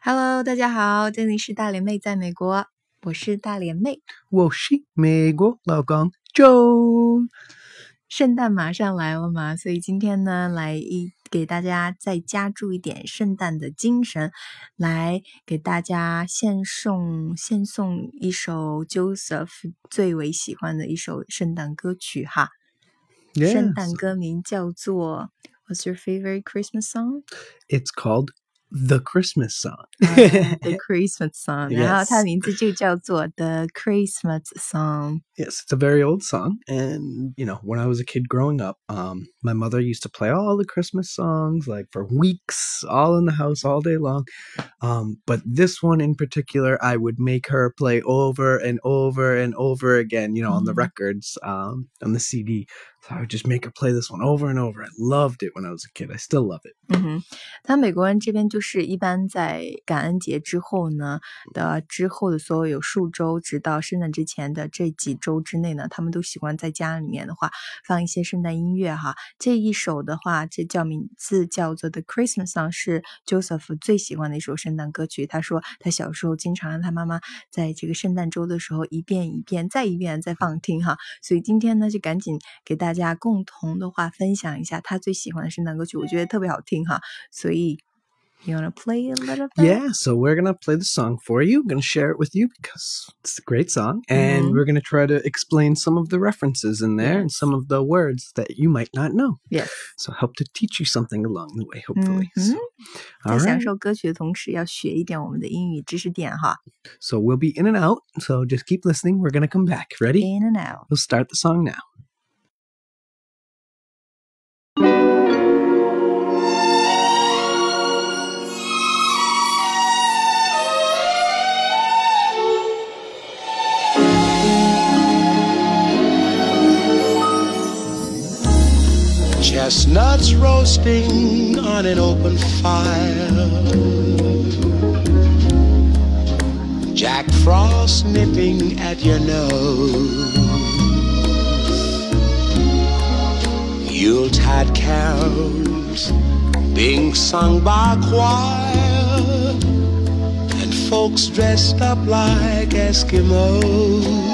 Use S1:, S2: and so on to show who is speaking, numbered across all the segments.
S1: Hello， 大家好，这里是大连妹在美国，我是大连妹，
S2: 我是美国老公 Joe。
S1: 圣诞马上来了嘛，所以今天呢，给大家再加注一点圣诞的精神，来给大家献送一首 Joseph 最为喜欢的一首圣诞歌曲哈。
S2: Yes.
S1: 圣诞歌名叫做 What's your favorite Christmas song?
S2: It's called The Christmas Song.
S1: The Christmas Song. 然后它的
S2: Yes.
S1: 名字就叫做 The Christmas Song.
S2: Yes, it's a very old song. And, when I was a kid growing up, my mother used to play all the Christmas songs, like for weeks, all in the house, all day long. But this one in particular, I would make her play over and over and over again, on the records, on the CD. So I would just make her play this one over and over. I loved it when I was a kid. I still love it.
S1: 他美国人这边就是一般在感恩节之后的所有数周，直到圣诞之前的这几周之内呢，他们都喜欢在家里面的话放一些圣诞音乐哈。这一首的话，名字叫做 The Christmas Song， 是 Joseph 最喜欢的一首圣诞歌曲。他说他小时候经常让他妈妈在这个圣诞周的时候一遍一遍再放听哈。所以今天呢，就赶紧给大家共同的话分享一下他最喜欢的圣诞歌曲，我觉得特别好听哈。所以You want to play a little bit?
S2: Yeah, so we're going to play the song for you. We're going to share it with you because it's a great song. And we're going to try to explain some of the references in there and some of the words that you might not know.
S1: Yes.
S2: So help to teach you something along the way, hopefully. So,
S1: 在享受歌曲的同时，要学一点我们的英语知识点哈。
S2: So we'll be in and out. So just keep listening. We're going to come back. Ready?
S1: In and out.
S2: We'll start the song now. Chestnuts roasting on an open fire, Jack Frost nipping at your nose, Yuletide carols being sung by a choir, and folks dressed up like Eskimos.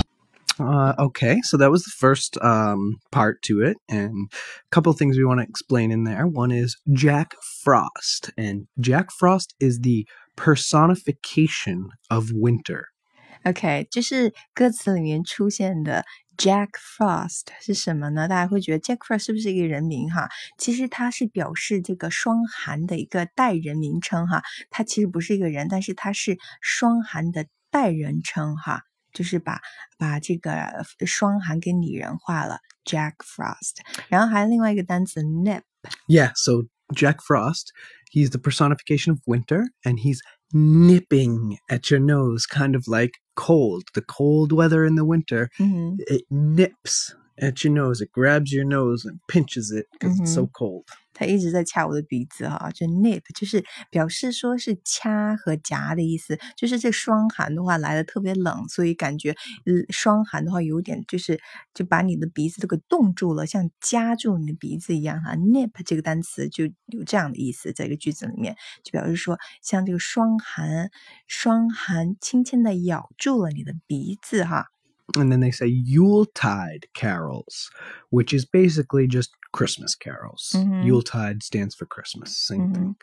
S2: Okay, so that was the first part to it, and a couple of things we want to explain in there. One is Jack Frost, and Jack Frost is the personification of winter.
S1: OK， 就是歌词里面出现的 Jack Frost 是什么呢？大家会觉得 Jack Frost 是不是一个人名哈？其实它是表示这个霜寒的一个代人名称哈。它其实不是一个人，但是它是霜寒的代人称哈。就是把这个霜寒给拟人化了 Jack Frost， 然后还有另外一个单词 nip。
S2: Yeah, so Jack Frost, he's the personification of winter, and he's nipping at your nose, kind of like cold. The cold weather in the winter, it nips at your nose. It grabs your nose and pinches it because it's so cold.
S1: 他一直在掐我的鼻子哈，就 nip 就是表示说是掐和夹的意思，就是这霜寒的话来的特别冷，所以感觉霜寒的话有点就把你的鼻子都给冻住了，像夹住你的鼻子一样哈。nip 这个单词就有这样的意思，在一个句子里面就表示说像这个霜寒轻轻的咬住了你的鼻子哈。
S2: And then they say Yuletide carols, which is basically just Christmas carols. Yuletide stands for Christmas, same thing.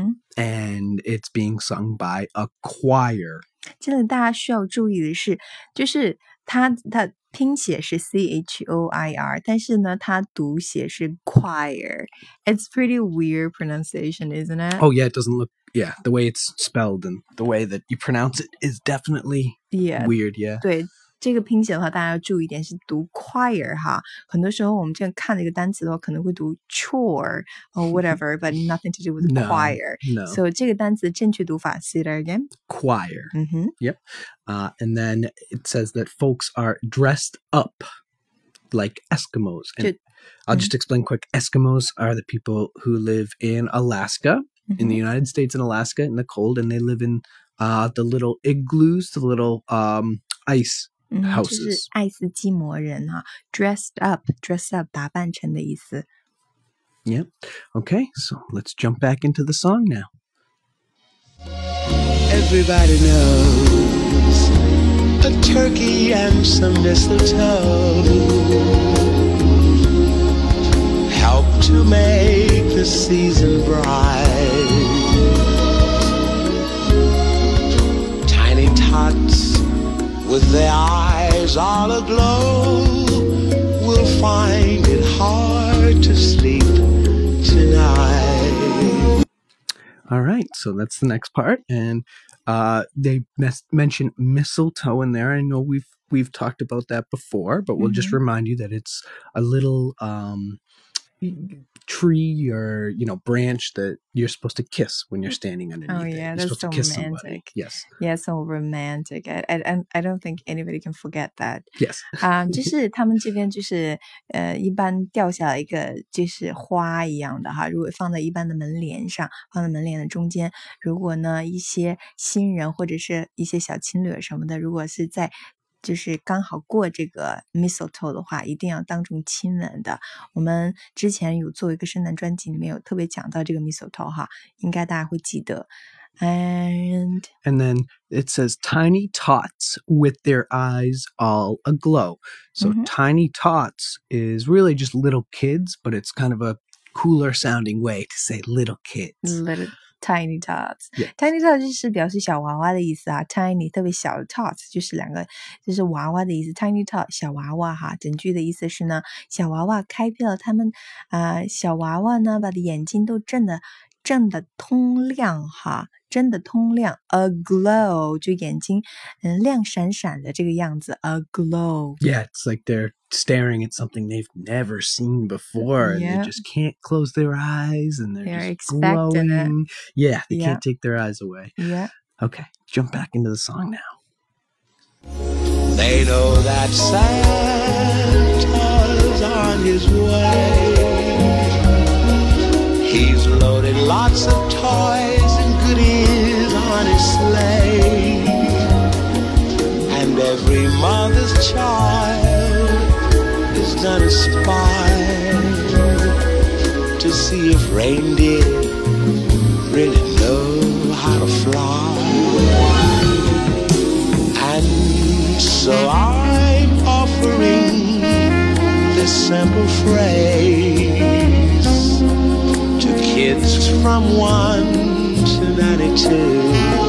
S2: And it's being sung by a choir.
S1: 这里大家需要注意的是，就是它拼写是 choir， 但是呢，它读写是 choir. It's pretty weird pronunciation, isn't it?
S2: Oh, yeah, it doesn't look... Yeah, the way it's spelled and the way that you pronounce it is definitely weird, yeah.
S1: 对。这个拼写的话，大家要注意一点，是读 choir 哈。很多时候我们这样看这个单词的话，可能会读 chore or whatever, but nothing to do with choir.
S2: No.
S1: So 这个单词正确读法 say that again.
S2: Choir. Yep. And then it says that folks are dressed up like Eskimos. And I'll just explain quick. Eskimos are the people who live in Alaska, in the United States and Alaska in the cold, and they live in the little igloos, the little ice houses.
S1: 就是爱斯基摩人哈 dress up 打扮成的意思。
S2: Yep. Okay, so let's jump back into the song now. Everybody knows a turkey and some mistletoe help to make the season bright. Tiny tots with their eyes all aglow will find it hard to sleep tonight.
S3: All right, so that's the next part, and they mention mistletoe in there. I know we've talked about that before, but we'll just remind you that it's a little tree or branch that you're supposed to kiss when you're standing underneath.
S1: Oh yeah,
S3: you're
S1: that's
S3: supposed
S1: so
S3: to kiss
S1: romantic.
S3: somebody. Yes.
S1: Yeah, so romantic. I don't think anybody can forget that.
S3: Yes.
S1: 就是他们这边就是一般掉下来一个就是花一样的哈，如果放在一般的门帘上，放在门帘的中间，如果呢一些新人或者是一些小情侣什么的，如果是在就是刚好过这个 mistletoe 的话，一定要当众亲吻的。我们之前有做一个圣诞专辑，里面有特别讲到这个 mistletoe 哈，应该大家会记得。And
S3: then it says tiny tots with their eyes all aglow. So tiny tots is really just little kids, but it's kind of a cooler sounding way to say little kids.
S1: Little tiny tots.
S3: Yeah.
S1: Tiny tots 就是表示小娃娃的意思啊 ，tiny 特别小 tots 就是两个就是娃娃的意思 ，tiny tot 小娃娃哈。整句的意思是呢，小娃娃开辟了他们小娃娃呢把眼睛都睁得通亮哈。真的通亮 ，aglow 就眼睛亮闪闪的这个样子 ，aglow.
S3: Yeah, it's like they're staring at something they've never seen before, and they just can't close their eyes, and they're just
S1: expecting
S3: glowing.
S1: it.
S3: Yeah, they can't take their eyes away.
S1: Yeah.
S3: Okay, jump back into the song now.
S2: They know that Santa's on his way. He's loaded lots of toys and goodies on his sleigh. And every mother's child is gonna spy to see if reindeer really know how to fly. And so I'm offering this simple phrase to kids from 1 to 92.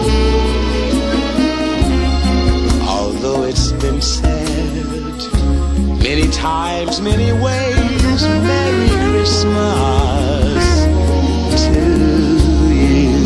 S2: Although it's been said many times, many ways, Merry Christmas to you.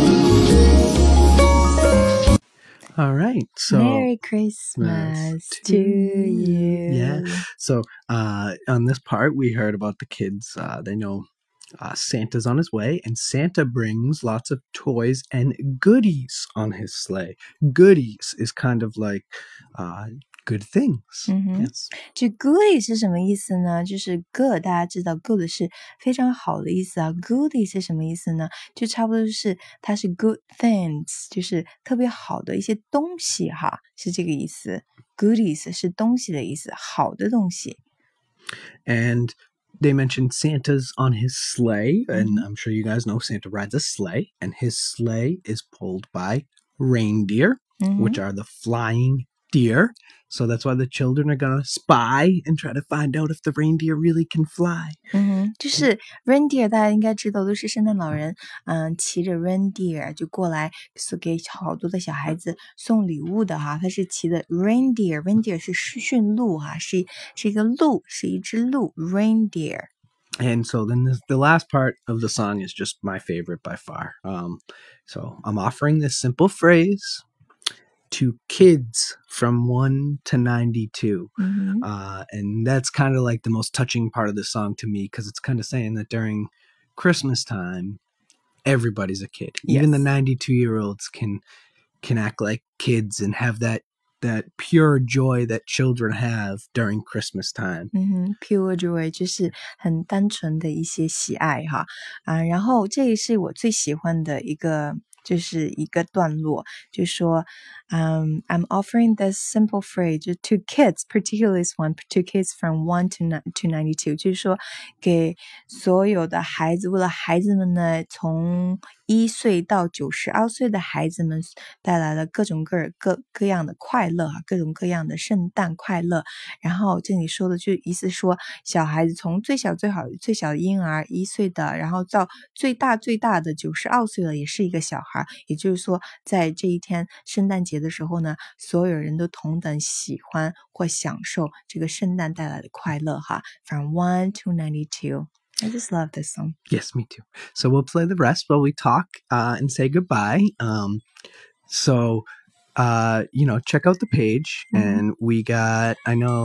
S3: All right, so
S1: Merry Christmas to you.
S3: Yeah. So on this part, we heard about the kids. They know Santa's on his way, and Santa brings lots of toys and goodies on his sleigh. Goodies is kind of like good things. Yes.
S1: 这 goodie 是什么意思呢？就是 good 大家知道 good 是非常好的意思啊 goodie 是什么意思呢？就差不多是它是 good things 就是特别好的一些东西哈，是这个意思 goodies 是东西的意思，好的东西。
S3: And they mentioned Santa's on his sleigh, and I'm sure you guys know Santa rides a sleigh, and his sleigh is pulled by reindeer, which are the flying deer. So that's why the children are gonna spy and try to find out if the reindeer really can fly.
S1: 就是 reindeer 大家应该知道都是圣诞老人骑着 reindeer 就过来给好多的小孩子送礼物的哈，他是骑的 reindeer 是驯鹿哈，是一个鹿，是一只鹿 reindeer.
S3: And so then the last part of the song is just my favorite by far. So I'm offering this simple phrase to kids from 1 to 92. And that's kind of like the most touching part of the song to me, because it's kind of saying that during Christmas time, everybody's a kid.
S1: Yes.
S3: Even the 92-year-olds can act like kids and have that pure joy that children have during Christmas time.
S1: Pure joy 就是很单纯的一些喜爱哈然后这也是我最喜欢的一个就是一个段落，就说 I'm offering this simple phrase to kids, particularly this one, to kids from 1 to 92， 就是说给所有的孩子，为了孩子们呢，从1岁到92岁的孩子们带来了各种各样的快乐，各种各样的圣诞快乐。然后这里说的就意思说，小孩子从最小的婴儿1岁的，然后到最大的92岁了，也是一个小孩。也就是说，在这一天圣诞节的时候呢，所有人都同等喜欢或享受这个圣诞带来的快乐哈。From 1 to 92. I just love this song.
S3: Yes, me too. So we'll play the rest while we talk and say goodbye. So check out the page, and we got,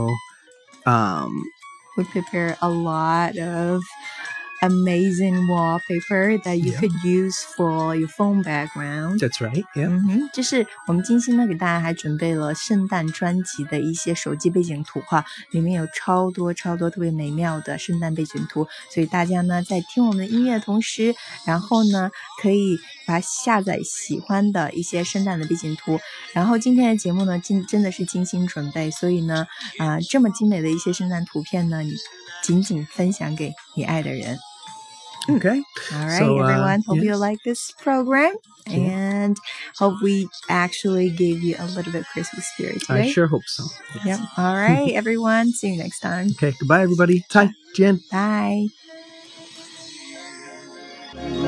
S1: we prepare a lot of amazing wallpaper that you could use for your phone background.
S3: That's right, yeah.
S1: 这是我们精心呢给大家还准备了圣诞专辑的一些手机背景图哈，里面有超多特别美妙的圣诞背景图，所以大家呢在听我们的音乐的同时，然后呢可以把下载喜欢的一些圣诞的背景图。然后今天的节目呢真的是精心准备，所以呢这么精美的一些圣诞图片呢，你仅仅分享给你爱的人。
S3: Okay.
S1: All right, everyone. Hope you like this program and hope we actually gave you a little bit of Christmas spirit today.
S3: I sure hope so.
S1: Yep. All right, everyone. See you next time.
S3: Okay. Goodbye, everybody. Bye, Jen.
S1: Bye.